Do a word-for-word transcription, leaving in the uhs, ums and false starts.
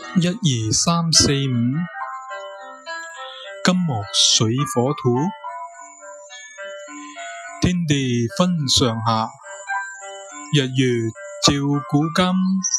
一二三四五，金木水火土，天地分上下，日月照古今。